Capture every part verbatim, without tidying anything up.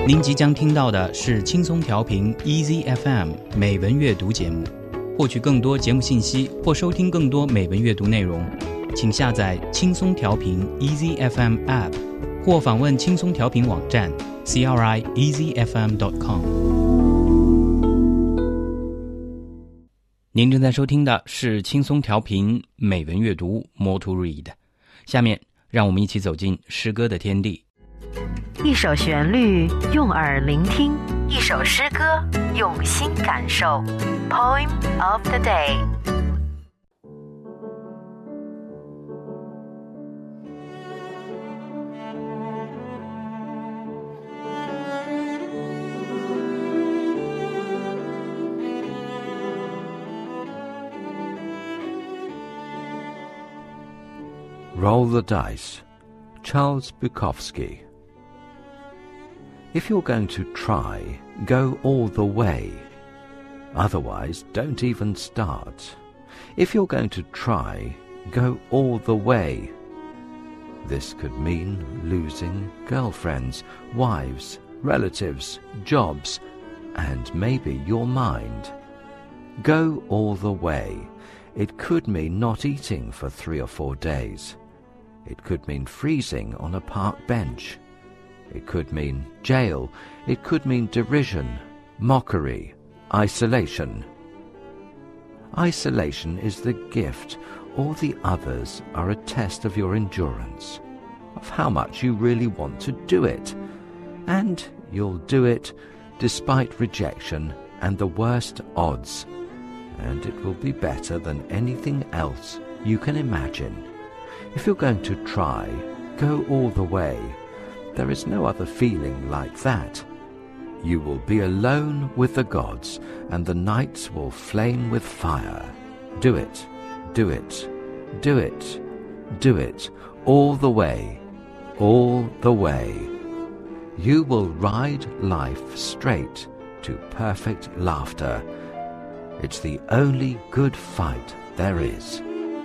您即将听到的是轻松调频 Easy F M 美文阅读节目。获取更多节目信息或收听更多美文阅读内容，请下载轻松调频 Easy F M App 或访问轻松调频网站 c r i easy f m dot com。 您正在收听的是轻松调频美文阅读 More to Read。 下面让我们一起走进诗歌的天地。 一首旋律用耳聆听，一首诗歌用心感受。 Poem of the day。 Roll the Dice, Charles Bukowski. If you're going to try, go all the way. Otherwise, don't even start. If you're going to try, go all the way. This could mean losing girlfriends, wives, relatives, jobs, and maybe your mind. Go all the way. It could mean not eating for three or four days. It could mean freezing on a park bench. It could mean jail. It could mean derision, mockery, isolation. Isolation is the gift. All the others are a test of your endurance, of how much you really want to do it. And you'll do it despite rejection and the worst odds. And it will be better than anything else you can imagine. If you're going to try, go all the way. There is no other feeling like that. You will be alone with the gods, and the nights will flame with fire. Do it, do it, do it, do it, all the way, all the way. You will ride life straight to perfect laughter. It's the only good fight there is.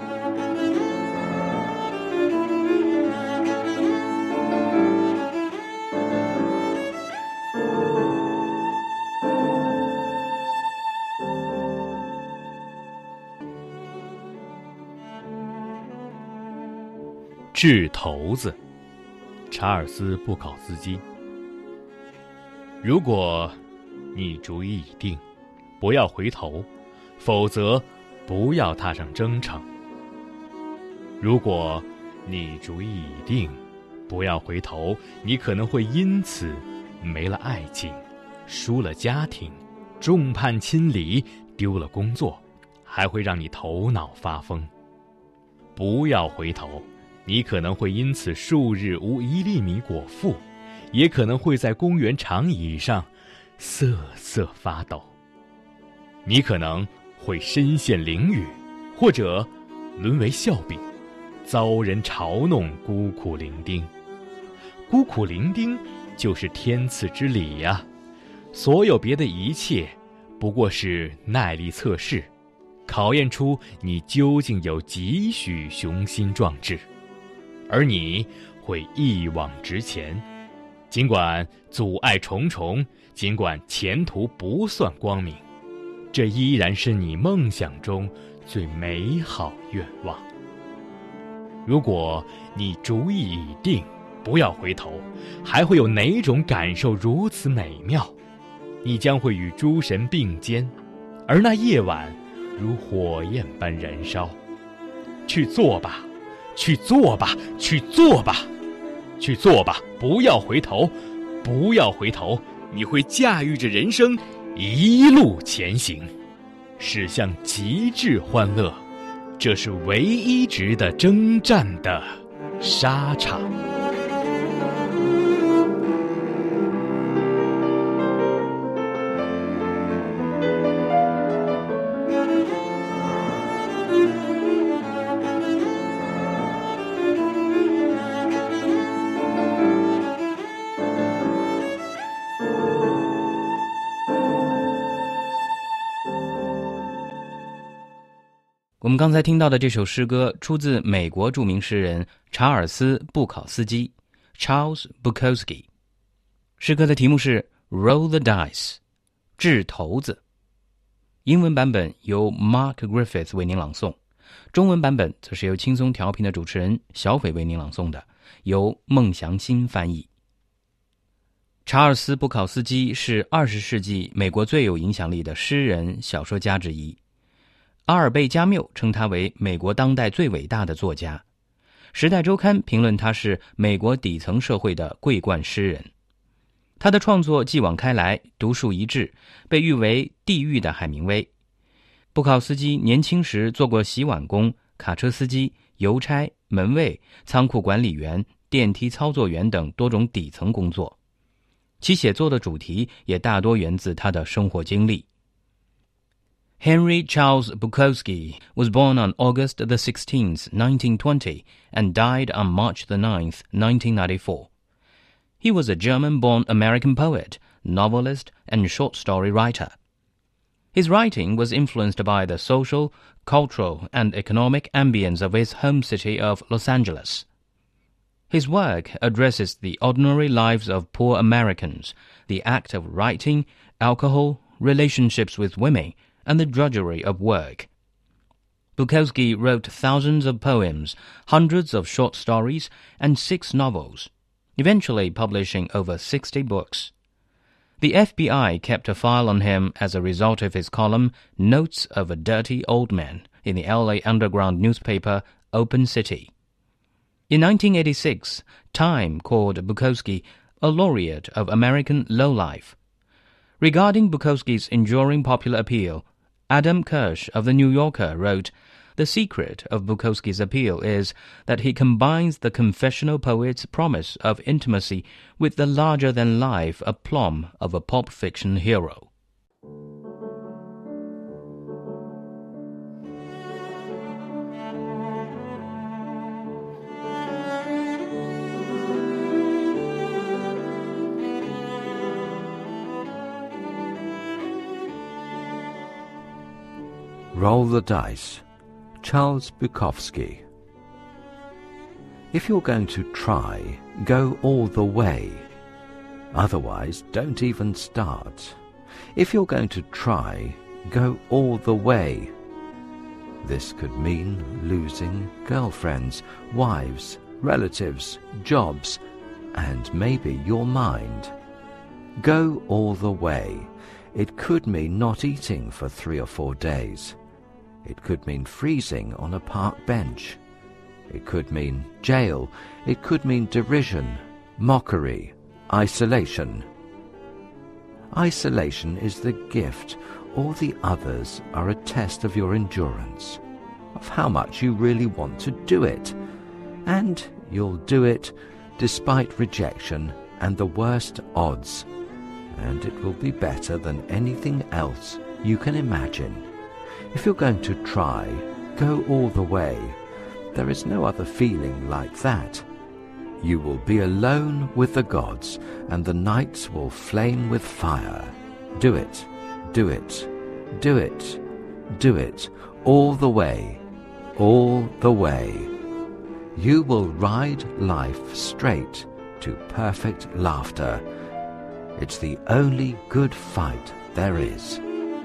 掷骰子，查尔斯·布考斯基。如果你主意已定，不要回头，否则不要踏上征程。如果你主意已定，不要回头，你可能会因此没了爱情，输了家庭，众叛亲离，丢了工作，还会让你头脑发疯。不要回头，你可能会因此数日无一粒米果腹，也可能会在公园长椅上瑟瑟发抖。你可能会身陷囹圄，或者沦为笑柄，遭人嘲弄，孤苦伶仃。孤苦伶仃就是天赐之理呀、啊！所有别的一切不过是耐力测试，考验出你究竟有几许雄心壮志。而你会一往直前，尽管阻碍重重，尽管前途不算光明，这依然是你梦想中最美好愿望。如果你主意已定，不要回头，还会有哪种感受如此美妙？你将会与诸神并肩，而那夜晚如火焰般燃烧。去做吧，去做吧，去做吧，去做吧！不要回头，不要回头！你会驾驭着人生一路前行，驶向极致欢乐。这是唯一值得征战的沙场。 我们刚才听到的这首诗歌出自美国著名诗人查尔斯·布考斯基 Charles Bukowski。 诗歌的题目是 Roll the Dice， 掷骰子。英文版本由 Mark Griffith 为您朗诵，中文版本则是由轻松调频的主持人小斐为您朗诵的，由孟祥新翻译。查尔斯·布考斯基是二十世纪美国最有影响力的诗人、小说家之一。阿尔贝·加缪称他为美国当代最伟大的作家。时代周刊评论他是美国底层社会的桂冠诗人。他的创作继往开来，独树一帜，被誉为地狱的海明威。布考斯基年轻时做过洗碗工、卡车司机、邮差、门卫、仓库管理员、电梯操作员等多种底层工作，其写作的主题也大多源自他的生活经历。Henry Charles Bukowski was born on August the sixteenth, nineteen twenty, and died on March the ninth, nineteen ninety-four.He was a German-born American poet, novelist, and short story writer. His writing was influenced by the social, cultural, and economic ambience of his home city of Los Angeles. His work addresses the ordinary lives of poor Americans, the act of writing, alcohol, relationships with women, and the drudgery of work. Bukowski wrote thousands of poems, hundreds of short stories, and six novels.Eventually publishing over sixty books. The F B I kept a file on him as a result of his column Notes of a Dirty Old Man in the L A underground newspaper Open City. In nineteen eighty-six, Time called Bukowski a laureate of American lowlife. Regarding Bukowski's enduring popular appeal, Adam Kirsch of The New Yorker wrote,The secret of Bukowski's appeal is that he combines the confessional poet's promise of intimacy with the larger-than-life aplomb of a pulp fiction hero. Roll the Dice, Charles Bukowski. If you're going to try, go all the way. Otherwise, don't even start. If you're going to try, go all the way. This could mean losing girlfriends, wives, relatives, jobs, and maybe your mind. Go all the way. It could mean not eating for three or four days.It could mean freezing on a park bench. It could mean jail. It could mean derision, mockery, isolation. Isolation is the gift. All the others are a test of your endurance, of how much you really want to do it. And you'll do it despite rejection and the worst odds. And it will be better than anything else you can imagine.If you're going to try, go all the way. There is no other feeling like that. You will be alone with the gods, and the nights will flame with fire. Do it, do it, do it, do it, all the way, all the way. You will ride life straight to perfect laughter. It's the only good fight there is.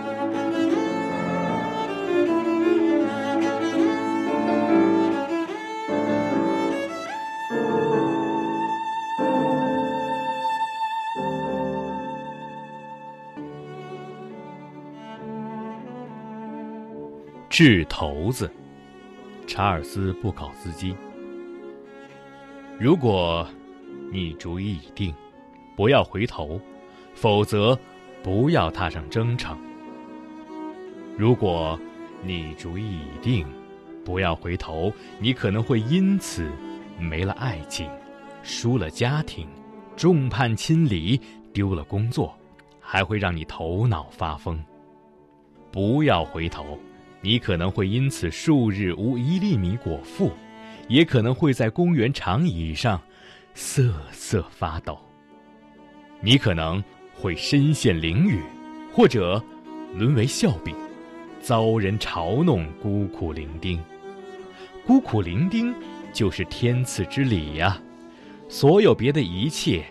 掷骰子，查尔斯·布考斯基。如果你主意已定，不要回头，否则不要踏上征程。如果你主意已定，不要回头，你可能会因此没了爱情，输了家庭，众叛亲离，丢了工作，还会让你头脑发疯。不要回头，你可能会因此数日无一粒米果腹，也可能会在公园长椅上瑟瑟发抖。你可能会身陷囹圄，或者沦为笑柄，遭人嘲弄，孤苦伶仃。孤苦伶仃就是天赐之礼呀、啊！所有别的一切，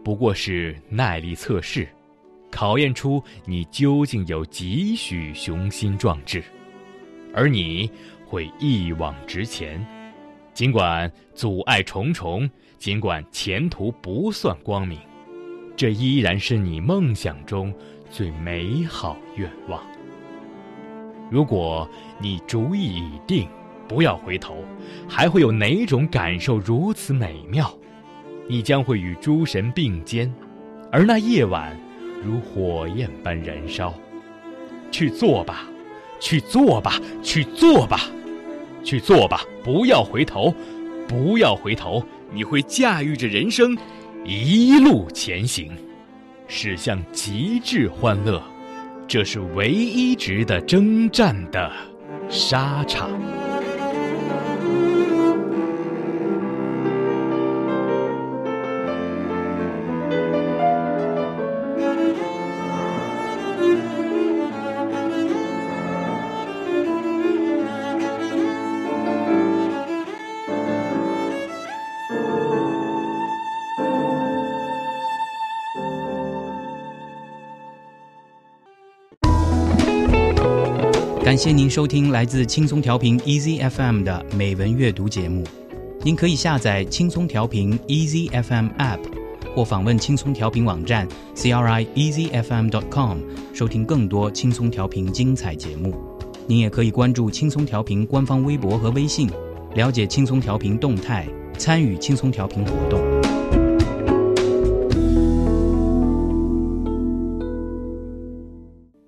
不过是耐力测试，考验出你究竟有几许雄心壮志，而你会一往直前，尽管阻碍重重，尽管前途不算光明，这依然是你梦想中最美好愿望。如果你主意已定，不要回头，还会有哪种感受如此美妙？你将会与诸神并肩，而那夜晚如火焰般燃烧。去做吧，去做吧，去做吧，去做吧，不要回头，不要回头，你会驾驭着人生一路前行，驶向极致欢乐。这是唯一值得征战的沙场。 感谢您收听来自轻松调频 E Z F M 的美文阅读节目。您可以下载轻松调频 E Z F M App， 或访问轻松调频网站 c r i e z f m dot com 收听更多轻松调频精彩节目。您也可以关注轻松调频官方微博和微信，了解轻松调频动态，参与轻松调频活动。